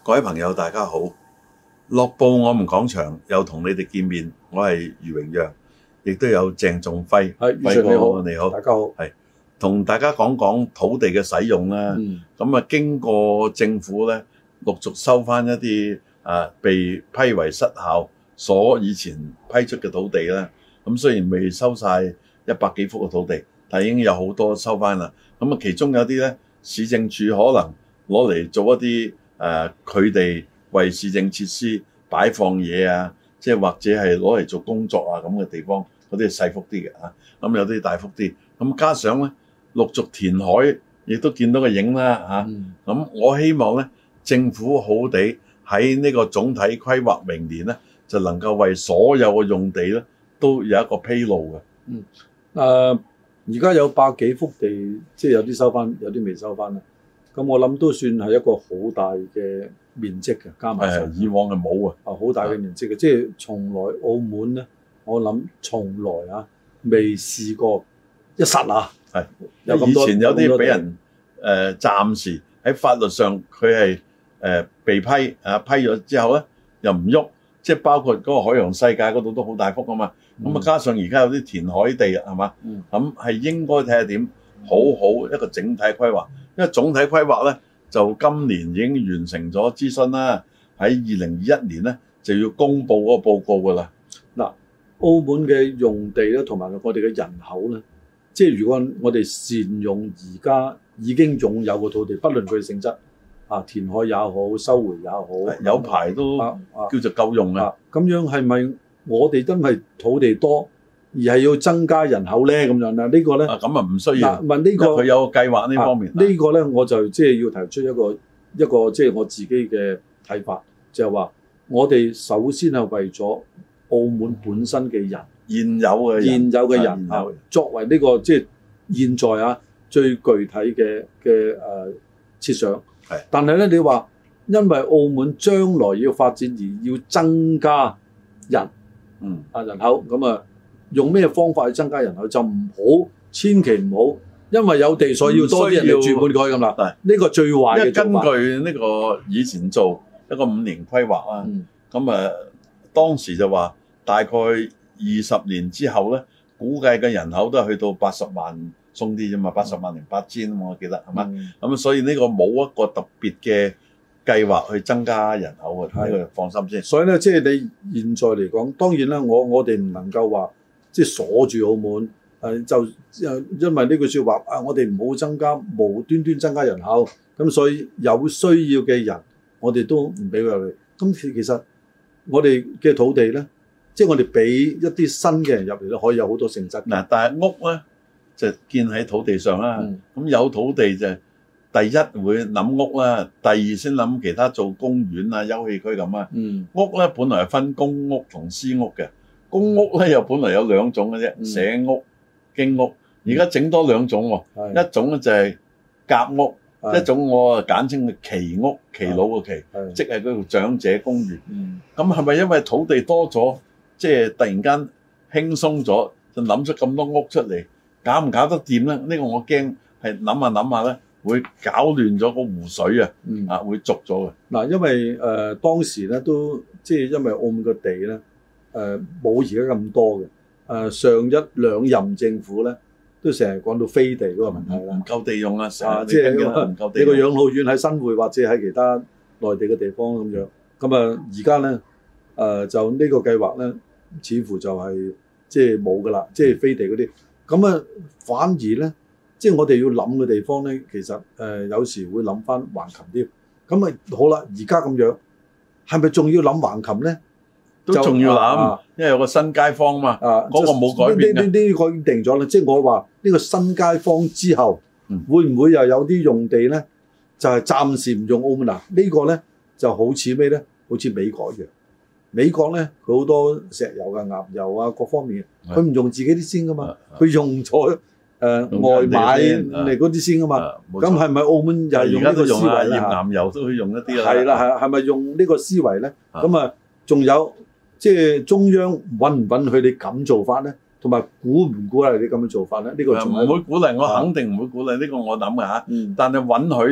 各位朋友，大家好！樂報我們講場又同你哋見面，我係余榮陽，亦都有鄭仲輝。 係， 輝哥你好， 大家好。 係同大家講講土地嘅使用啦。咁經過政府咧陸續收翻一啲被批為失效所以前批出嘅土地啦。咁雖然未收晒100幾幅嘅土地，但已經有好多收翻啦。咁其中有啲咧市政署可能攞嚟做一啲佢哋為市政設施擺放嘢啊，即係或者係攞嚟做工作啊咁嘅地方，嗰啲係細幅啲嘅嚇。咁有啲大幅啲，咁加上咧陸續填海，亦都見到個影啦嚇。咁我希望咧政府好好地喺呢個總體規劃明年咧，就能夠為所有嘅用地咧都有一個披露嘅。 而家有100幾幅地，即係有啲收翻，有啲未收翻啦。咁我諗都算係一個好大嘅面積嘅，加埋上以往係冇啊， 好大嘅面積嘅，即係從來澳門咧，我諗從來未試過一剎那係有咁多。 以前有啲俾人暫時喺法律上佢係被批批咗之後咧又唔喐，即係包括嗰個海洋世界嗰度都好大幅啊嘛。咁加上而家有啲填海地係嘛，咁係應該睇下點好好一個整體規劃。因為總體規劃咧，就今年已經完成咗諮詢啦，喺2021年咧就要公布嗰個報告㗎啦。 嗱，澳門嘅用地咧，同埋我哋嘅人口咧，即係如果我哋善用而家已經擁有嘅土地，不論佢嘅性質填海也好，收回也好， 有排都叫做夠用啊。 咁樣係咪我哋真係土地多？而係要增加人口咧，咁樣啦。呢個咧， 咁唔需要。 問呢個佢有計劃呢方面。 呢個咧，我就即係要提出一個即係我自己嘅睇法，就係話我哋首先係為咗澳門本身嘅人，現有嘅人作為呢個即係現在最具體嘅設想。係。但係咧，你話因為澳門將來要發展而要增加人口咁用咩方法去增加人口就唔好，千祈唔好，因為有地所以要多啲人嚟住滿佢咁啦。呢個最壞嘅做法。 根據呢個以前做一個5年規劃啦，咁當時就話大概20年之後咧，估計嘅人口都係去到80萬鬆啲啫嘛，80萬0 8千我記得係嘛。咁所以呢個冇一個特別嘅計劃去增加人口嘅，呢個放心先。 所以咧，即係你現在嚟講，當然啦，我哋唔能夠話。即係鎖住澳門，就因為呢句説話我哋唔好增加無端端增加人口，咁所以有需要嘅人，我哋都唔俾佢入嚟。咁其實我哋嘅土地咧，即係我哋俾一啲新嘅人入嚟咧，可以有好多性質。 嗱，但係屋咧就建喺土地上啦。咁有土地就第一會諗屋啦，第二先諗其他做公園啊、休憩區咁啊。屋咧本來係分公屋同私屋嘅。公屋咧又本來有2種嘅啫，社屋、經屋。而家整多2種喎，一種咧就係夾屋，一種我簡稱嘅耆屋，耆老嘅耆，即係嗰個長者公寓。咁係咪因為土地多咗，即係突然間輕鬆咗，就諗出咁多屋出嚟，搞唔搞得掂咧？呢個我驚係諗下咧，會搞亂咗個湖水啊，會濁咗嘅。 嗱，因為當時咧都即係因為澳門嘅地咧。冇而家咁多嘅，上1、2任政府咧，都成日講到飛地嗰個問題啦， 唔夠地用啊，即係唔夠地。你個養老院喺新會或者喺其他內地嘅地方咁樣，咁而家咧就呢個計劃咧，似乎就係即係冇㗎啦，即係飛地嗰啲。咁反而咧，即係我哋要諗嘅地方咧，其實有時會諗翻橫琴啲。咁好啦，而家咁樣，係咪仲要諗橫琴咧？ 都仲要諗，因為有個新街坊嘛，嗰個冇改變嘅。 呢個已經定咗啦，即係我話呢個新街坊之後，會唔會又有啲用地咧？就係暫時唔用澳門嗱，呢個咧就好似咩咧？好似美國一樣。美國咧佢好多石油啊、岩油啊各方面，佢唔用自己啲先噶嘛，佢用咗外買嚟嗰啲先噶嘛。咁係咪澳門又係用呢個思維咧？ 岩油都可以用一啲啦。 係啦，係咪用呢個思維咧？咁仲有。即係中央允唔允許你咁做法咧，同埋鼓唔鼓勵你咁樣做法咧？呢個唔會鼓勵，我肯定唔會鼓勵呢個我諗嘅嚇。但係允許咧，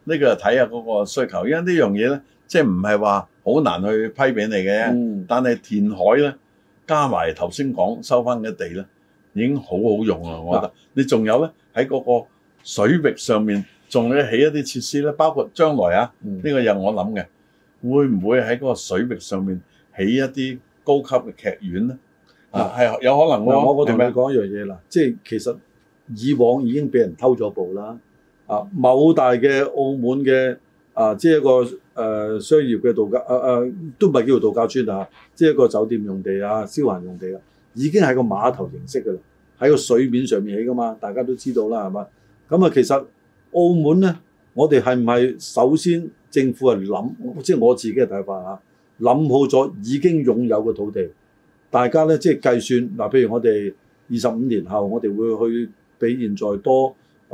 呢個睇下嗰個需求，因為呢樣嘢咧，即係唔係話好難去批俾你嘅。但係填海咧，加埋頭先講收翻嘅地咧，已經好好用啦。我覺得你仲有咧喺嗰個水域上面，仲要起一啲設施咧，包括將來啊，呢個又我諗嘅，會唔會喺嗰個水域上面起一啲高級嘅劇院咧？係有可能喎。 我同你講一樣嘢啦，即係其實以往已經俾人偷咗步啦。某大嘅澳門嘅即係一個商業嘅度假都唔係叫做度假村啊，即係一個酒店用地啊、消閒用地啊，已經係個碼頭形式㗎啦，喺個水面上面起㗎嘛，大家都知道啦，係嘛？咁其實澳門咧，我哋係唔係首先政府係諗，即係我自己嘅睇法諗好咗已經擁有嘅土地，大家咧即係計算譬如我哋25年後，我哋會去比現在多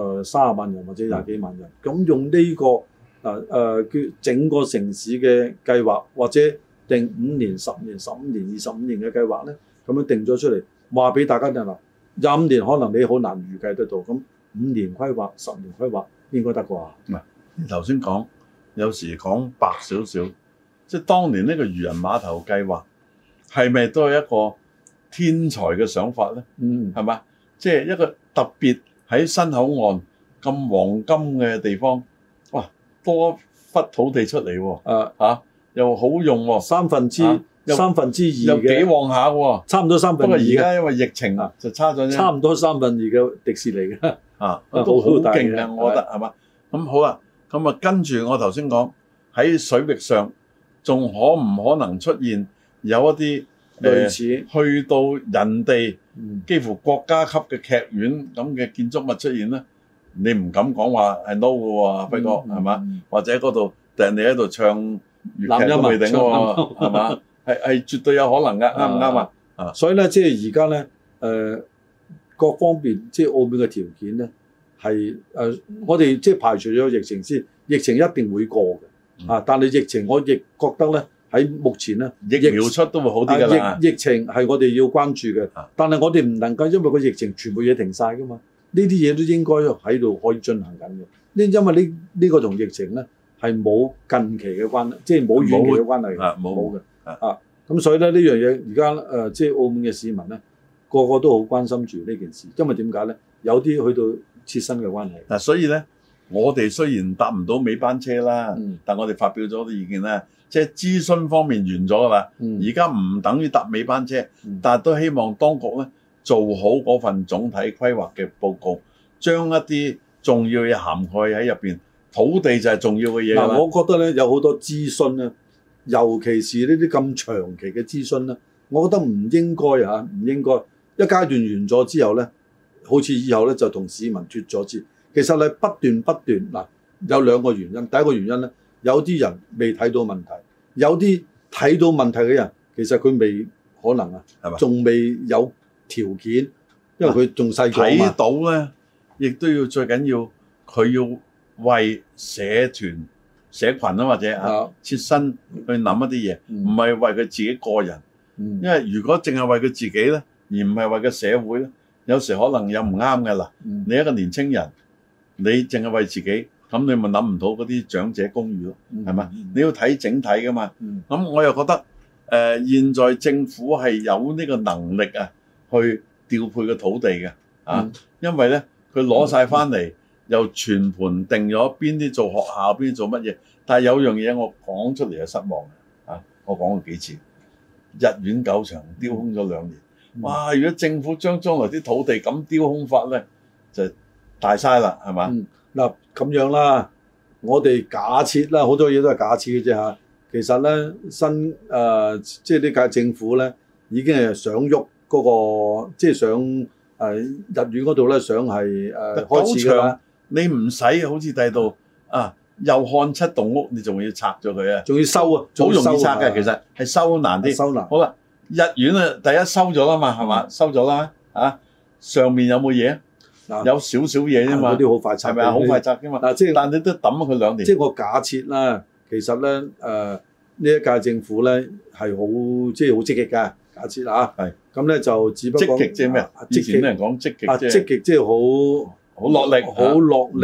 30萬人或者20幾萬人，咁用呢個叫整個城市嘅計劃，或者定5年、10年、15年、25年嘅計劃咧，咁樣定咗出嚟，話俾大家聽啦。25年可能你好難預計得到，咁5年規劃、10年規劃應該得啩？ 唔係，你頭先講有時講白少少，即係當年呢個漁人碼頭計劃係咪都係一個天才嘅想法咧？係嘛？即係一個特別喺新口岸咁黃金嘅地方，哇，多忽土地出嚟喎，又好用喎，三分之二又幾旺下喎， 差唔多3分2。不過而家因為疫情就差咗啫， 差唔多3分2嘅迪士尼嘅都好勁嘅，我覺得係嘛？咁好啦，咁跟住我頭先講喺水域上，仲可唔可能出現有一啲類似去到人哋幾乎國家級嘅劇院咁嘅建築物出現咧？你唔敢講話係 no 嘅喎，輝哥係嘛？或者嗰度人哋喺度唱粵劇都未定喎，係嘛？係絕對有可能㗎，啱唔啱啊？ 所以咧，即係而家咧，各方面即係澳門嘅條件咧，係我哋即係排除咗疫情先，疫情一定會過嘅，但係疫情我亦覺得咧喺目前咧， 疫苗出都會好啲㗎啦。 疫情係我哋要關注嘅，但係我哋唔能夠因為個疫情全部嘢停晒㗎嘛，呢啲嘢都應該喺度可以進行緊嘅。因為呢個同疫情咧係冇近期嘅關係，即係冇遠期嘅關係，冇嘅。咁所以咧呢樣嘢而家即係澳門嘅市民咧，個個都好關心住呢件事，因為點解咧？有啲去到切身嘅關係。 嗱，所以咧，我哋雖然搭唔到尾班車啦，但我哋發表咗啲意見咧，即係諮詢方面完咗㗎啦。而家唔等於搭尾班車，但係都希望當局咧做好嗰份總體規劃嘅報告，將一啲重要嘅涵蓋喺入邊。土地就係重要嘅嘢。 嗱，我覺得咧有好多諮詢咧。尤其是呢啲咁長期嘅諮詢咧，我覺得唔應該唔應該一階段完咗之後咧，好似以後咧就同市民脫咗節。其實係不斷嗱，有2個原因。第一個原因咧，有啲人未睇到問題，有啲睇到問題嘅人，其實佢未可能係嘛，仲未有條件，因為佢仲細個嘛。睇到咧，亦都要最緊要佢要為社團。社群或者切身去諗一啲嘢，唔係為佢自己個人。因為如果淨係為佢自己咧，而唔係為個社會咧，有時可能有唔啱嘅啦。你一個年青人，你淨係為自己，咁你咪諗唔到嗰啲長者公寓咯，係嘛？你要睇整體噶嘛。咁我又覺得現在政府係有呢個能力去調配個土地嘅因為咧佢攞晒翻嚟。又全盤定咗邊啲做學校，邊啲做乜嘢？但係有樣嘢我講出嚟係失望嘅我講過幾次，逸園狗場丟空咗2年，哇！如果政府將來啲土地咁丟空法咧，就大嘥啦，係嘛？ 嗱咁樣啦，我哋假設啦，好多嘢都係假設嘅啫。其實咧，即係呢屆政府咧，已經係想喐嗰個，即係想逸園嗰度咧，想係開始㗎啦。 你唔使好似第度又看7棟屋，你仲要拆咗佢啊？ 仲要收啊？ 好容易拆嘅，其實係收難啲。 收難。 好啦，逸園第一收咗啦嘛，係嘛？收咗啦上面有冇嘢？有少少嘢啫嘛。 嗰啲好快拆， 係咪啊？好快拆㗎嘛。但你都抌佢2年。 即係我假設啦，其實咧呢一屆政府咧係好即係好積極㗎。假設係。咁咧就只不過積極即係咩？以前啲人講積極， 積極即係好。 好落力， 好落力，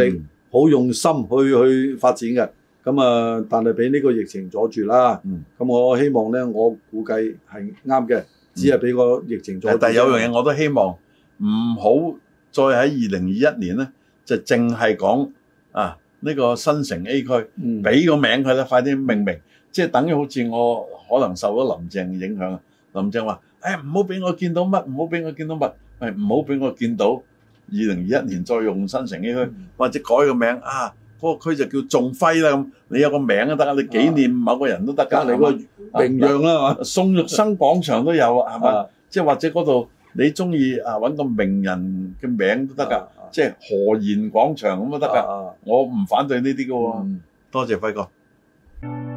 好用心去發展嘅。咁啊，但係俾呢個疫情阻住啦。咁我希望咧，我估計係啱嘅，只係俾個疫情阻住。 但係有樣嘢我都希望唔好再喺2021年咧，就淨係講呢個新城 A 區，俾個名佢啦，快啲命名，即係等於好似我可能受咗林鄭影響。林鄭話：唔好俾我見到乜，唔好俾我見到乜，唔好俾我見到2021年再用新城 A 區，或者改個名嗰個區就叫仲輝啦咁，你有個名都得啊，你紀念某個人都得㗎， 你個名揚啦嘛， 宋玉生廣場都有啊，係嘛？即係或者嗰度你中意揾個名人嘅名都得㗎，即係何賢廣場咁都得㗎，我唔反對呢啲㗎喎。多謝輝哥。